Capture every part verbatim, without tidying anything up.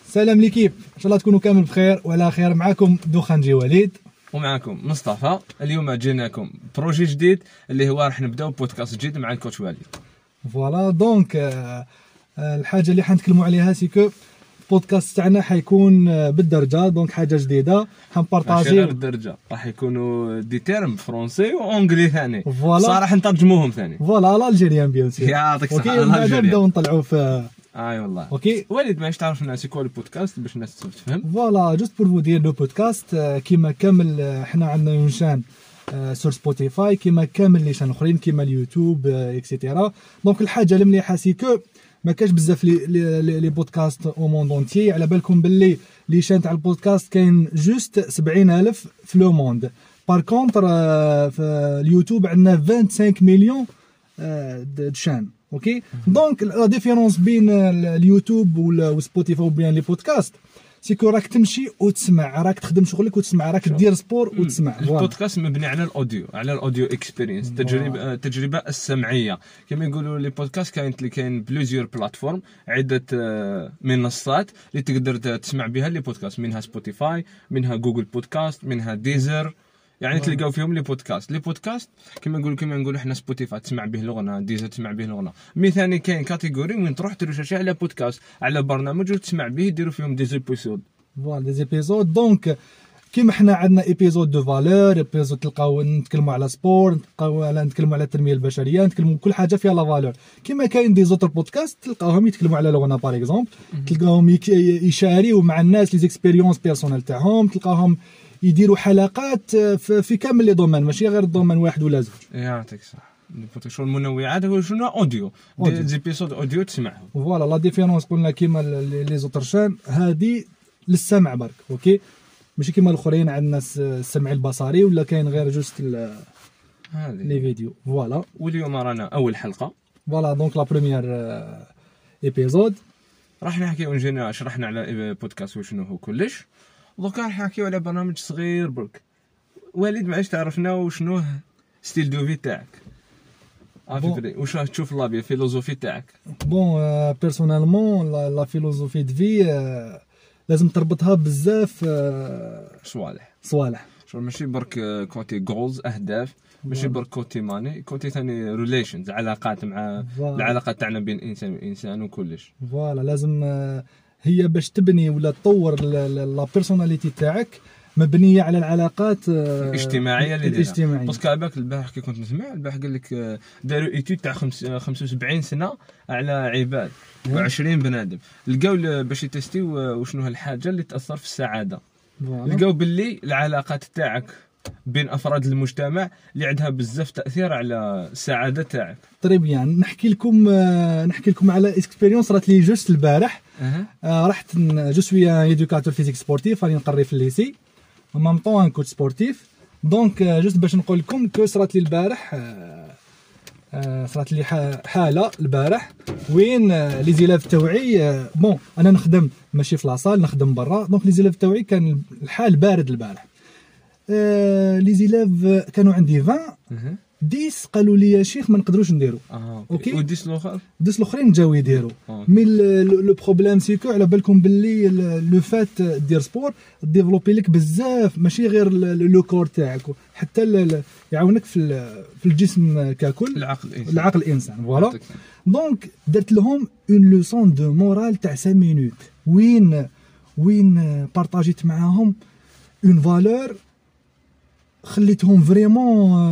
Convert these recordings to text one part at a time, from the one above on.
سلام ليكيب، ان شاء الله تكونوا كامل بخير وعلى خير. معكم دوخانجي وليد ومعكم مصطفى. اليوم جيناكم بروجي جديد اللي هو راح نبداو بودكاست جديد مع الكوتش وليد. فوالا دونك آه الحاجه اللي حنتكلموا عليها سيكو البودكاست تاعنا حيكون بالدرجه، دونك حاجه جديده حنبارطاجيو. غير الدرجه راح يكونوا دي تيرم فرونسي وانجلي ثاني، صراحه نترجموهم ثاني. فوالا الالجيريان بيان سور. يعطيك الصحه. اوكي بعدا نبداو نطلعوا في اي والله. اوكي وليد معليش تعرف الناس يكون البودكاست باش الناس تفهم. فوالا جوست بور فو دير لو بودكاست كيما كامل حنا عندنا اون شان سور سبوتيفاي كيما كامل لي شان اخرين كيما اليوتيوب اكسيتيرا. دونك الحاجه المليحه سيكو ما كاش بزاف لي لي, لي بودكاست او موند اونتي. على بالكم باللي لي شان تاع البودكاست كاين جوست سبعين ألف في لو موند. بار كونتر في اليوتيوب عندنا خمسة وعشرين مليون د شان. اوكي دونك لا ديفيرونس بين اليوتيوب وسبوتيفاي وبين لي بودكاست سيكو راك تمشي وتسمع، راك تخدم شغلك وتسمع، راك دير سبور وتسمع. البودكاست مبني على الاوديو، على الاوديو اكسبيرينس، التجربه التجربه السمعيه. كما يقولوا لي بودكاست كاين اللي كاين بلوزيور بلاتفورم، عده منصات اللي تقدر تسمع بها لي بودكاست، منها سبوتيفاي، منها جوجل بودكاست، منها ديزر، يعني تلقاو فيهم لي بودكاست. لي بودكاست كما نقولوا كما نقولوا احنا سبوتيفاي تسمع به الاغنيه، ديزر تسمع به الاغنيه. مي ثاني كاين كاتيجوري وين تروح ترشاشي على بودكاست، على برنامج وتسمع به، يديروا فيهم دي زيبيزود. فوالا دي زيبيزود. دونك كيما حنا عندنا ايبيزود دو فالور، ايبيزود تلقاو نتكلموا على سبور، نتلقاو على نتكلموا على التنميه البشريه، نتكلموا كل حاجه فيها لا فالور. كيما كاين دي زوتر بودكاست تلقاوهم يتكلموا على لغنا باغ اكزومبل، تلقاوهم يشاريو مع الناس لي زيكسبيريونس بيرسونيل تاعهم، تلقاوهم يديروا حلقات في كامل لي دومين، ماشي غير الدومين واحد ولا زوج. يعطيك صح. شو المنوعات هو شنو اوديو، دي زيبيزود اوديو تسمعهم. فوالا لا ديفيرونس قلنا كيما لي زوتر شان هادي للسمع برك. اوكي ماشي كيما الاخرين عندنا السمع البصري ولا كاين غير جوست لي فيديو. فوالا واليوم رانا اول حلقه. فوالا دونك لا بروميير ايبيزود راح نحكيو نجينا شرحنا على بودكاست وشنو هو كلش. دوكا راح نحكيو على برنامج صغير برك. وليد معليش تعرفنا وشنو ستيل دو في تاعك؟ افري واش راح تشوف لابي فيلوزوفي تاعك؟ بون بيرسونيلمون لا فيلوزوفي دو في لازم تربطها بزاف صوالح صوالح شو ماشي برك كوتي جولز اهداف، ماشي برك كوتي ماني، كوتي ثاني ريليشنز، علاقات مع العلاقات تاعنا بين الانسان والانسان وكلش. فوالا لازم هي باش تبني ولا تطور لا بيرسوناليتي تاعك مبنيه على العلاقات الاجتماعيه اللي الاجتماعيه. باسكو عباك البارح كي كنت نسمع البارح قال لك داروا ايتود تاع خمسة وسبعين سنه على عباد وعشرين بنادم، لقاو باش يتستيو وشنو هالحاجه اللي تاثر في السعاده. لقاو باللي العلاقات تاعك بين افراد المجتمع اللي عندها بزاف تاثير على السعاده تاعك. طري بيان نحكي لكم نحكي لكم على اكسبيريونس رات لي جوست البارح. أه. آه رحت جو سوي ايدوكاتور فيزيك سبورتيف، راني نقري في الليسي en même temps un coach sportif. دونك جوست باش نقول لكم كو صرات لي البارح، صرات لي حاله البارح وين لي زيلاف تاوعي بون انا نخدم ماشي في لاصال، نخدم برا. دونك لي زيلاف تاوعي كان الحال بارد البارح. لي زيلاف كانوا عندي عشرين ديس قالوا لي يا شيخ ما نقدروش نديرو. اه اوكي وديس الاخر ديس الاخرين جاو يديروا. مي لو بروبليم سيكو على بالكم باللي لو فات دير سبور ديفلوبي لك بزاف، ماشي غير لو كور تاعك، حتى يعاونك في في الجسم ككل، العقل الانسان العقل الانسان. فوالا دونك درت لهم اون لوسون دو مورال تاع خمسة مينوت وين وين بارطاجيت معاهم اون فالور خليتهم فريمون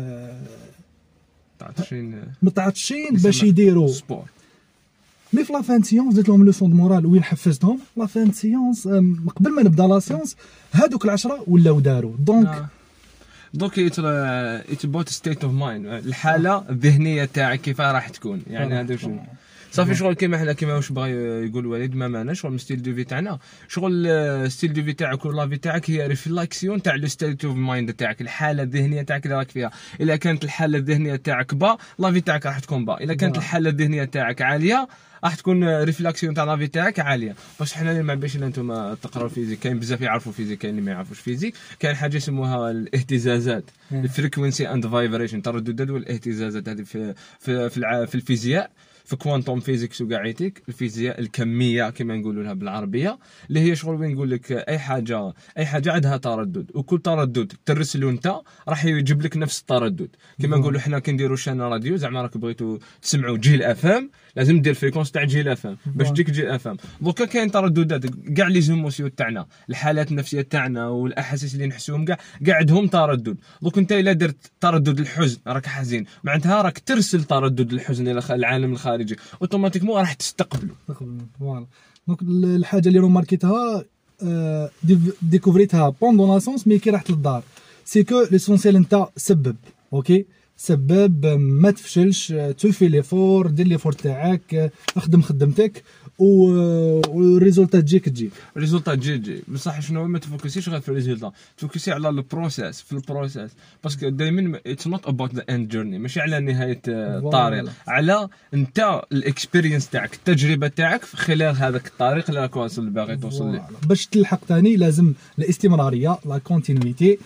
متعطشين متعطشين باش يديروا سبور. مي في لا فان سيونس درت لهم لوسون دو مورال وين حفزتهم. لا فان سيونس قبل ما نبدا لا سيونس هذوك العشرة ولاو داروا. دونك دونك ات ابوت ستيت اوف مايند، الحاله الذهنيه تاعك كيف راح تكون، يعني هذا شنو صافي شغل كيما حنا كيما واش بغى يقول وليد ما ماناش شغل ستيل دو في تاعنا، شغل ستيل دو في تاعك ولا في تاعك هي ريفلاكسيون تاع لو ستيت اوف مايند تاعك، الحاله الذهنيه تاعك اللي راك فيها. الا كانت الحاله الذهنيه تاعك با لا في تاعك راح تكون با، الا كانت الحاله الذهنيه تاعك عاليه راح تكون ريفلاكسيون تاع لا في تاعك عاليه. باش حنا ما باش انتم تقراو فيزيك، كاين بزاف يعرفوا فيزيك كاين اللي ما يعرفوش فيزيك. كاين حاجه يسموها الاهتزازات، الفريكوينسي اند فايبريشن، الترددات والاهتزازات. هذه في في في, في الفيزياء في كوانتوم فيزيكس وكاعيتيك الفيزياء الكميه كما نقولوا لها بالعربيه، اللي هي شغل وين نقول لك اي حاجه اي حاجه عندها تردد، وكل تردد ترسلو انت راح يجيب لك نفس التردد. كما نقولوا حنا كي نديروا شان راديو زعما راك بغيتوا تسمعوا جيل اف ام لازم دير فريكونس تاع جيل اف ام باش تجيك جيل اف ام. دوكا كاين ترددات كاع لي زيموسيون تاعنا، الحالات النفسيه تاعنا والاحاسيس اللي نحسوهم كاع كاع عندهم تردد. دوك انت الا درت تردد الحزن راك حزين، معناتها راك ترسل تردد الحزن الى العالم الخارجي، اوتوماتيكمون راح تستقبله. فوالا دونك الحاجه اللي روماركيتها آه ديكوفريتها بوندون لاسونس مي كي رحت للدار سي كو ليسونسيال انت سبب اوكي سبب ما تفشلش، توفي ليفور دير ليفور تاعك، اخدم خدمتك والريزولتا تجيك تجيك الريزولتا تجي تجي بصح شنو ما تفوكسيش غير في الريزولتا، تفوكسي على البروسيس في البروسيس باسكو دائما اتس نوت اباوت ذا اند جورني، ماشي على نهايه الطريق، على انت الاكسبيرينس تاعك التجربه تاعك في خلال هذاك الطريق اللي راك واصل باغي توصل ليه. باش تلحق ثاني لازم الاستمراريه لا كونتينيتي.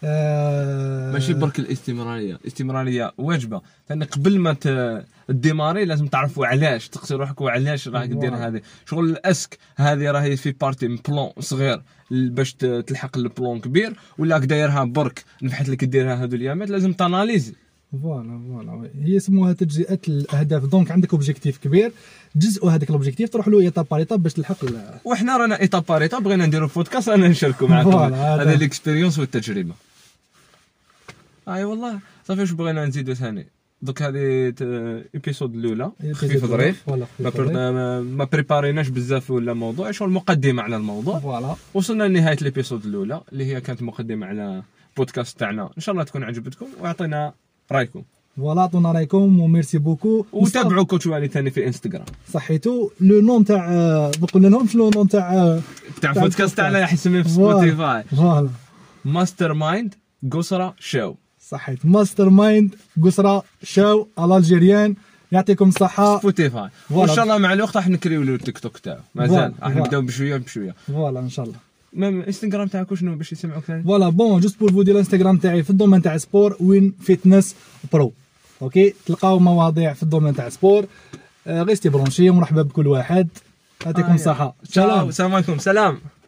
آه ماشي برك الاستمراريه، الاستمراريه واجبه ثاني قبل ما الديماري لازم تعرفوا علاش تقصي روحك وعلاش راك دير هذه شغل الاسك هذه راهي في بارتي من بلون صغير باش تلحق البلون كبير، ولا دايرها برك نفحت لك ديرها هذو اليامات لازم تاناليزي. فوالا فوالا هي يسموها تجزئه الاهداف. دونك عندك اوبجيكتيف كبير تجزئوا هذاك الاوبجيكتيف تروح له ايطاب بار ايطاب باش تلحق. وحنا رانا ايطاب بار ايطاب بغينا نديروا بودكاست رانا نشاركوا معكم هذه الاكسبيريونس والتجربه. اي والله صافي واش بغينا نزيدوا ثاني دوك هذه ايبيسود الاولى خفيف ظريف ما ما بريباريناش بزاف ولا موضوع شغل مقدمه على الموضوع. فوالا وصلنا لنهايه الابيسود الاولى اللي هي كانت مقدمه على بودكاست تاعنا، ان شاء الله تكون عجبتكم واعطينا رايكم. فوالا عطونا رايكم وميرسي بوكو. وتابعوا كوتش والي ثاني في انستغرام صحيتو. لو نون تاع ما قلنا لهمش لو نون تاع تاع بودكاست تاعنا راح يسميه في سبوتيفاي فوالا ماستر مايند قصرة شو. صحيت ماستر مايند قصرة شو الالجيريان. يعطيكم الصحة. سبوتيفاي وان شاء الله مع الوقت راح نكريو له التيك توك تاعو مازال راح نبداو بشويه بشويه. فوالا ان شاء الله. ميم انستغرام تاعك شنو باش يسمعوك ثاني؟ فوالا بون جوست بور فودي الانستغرام تاعي في الدومين تاع سبور وين فيتنس برو اوكي. تلقاو مواضيع في الدومين تاع سبور. غير استي برونشي ومرحبا بكل واحد. يعطيكم الصحة. سلام. السلام عليكم. سلام.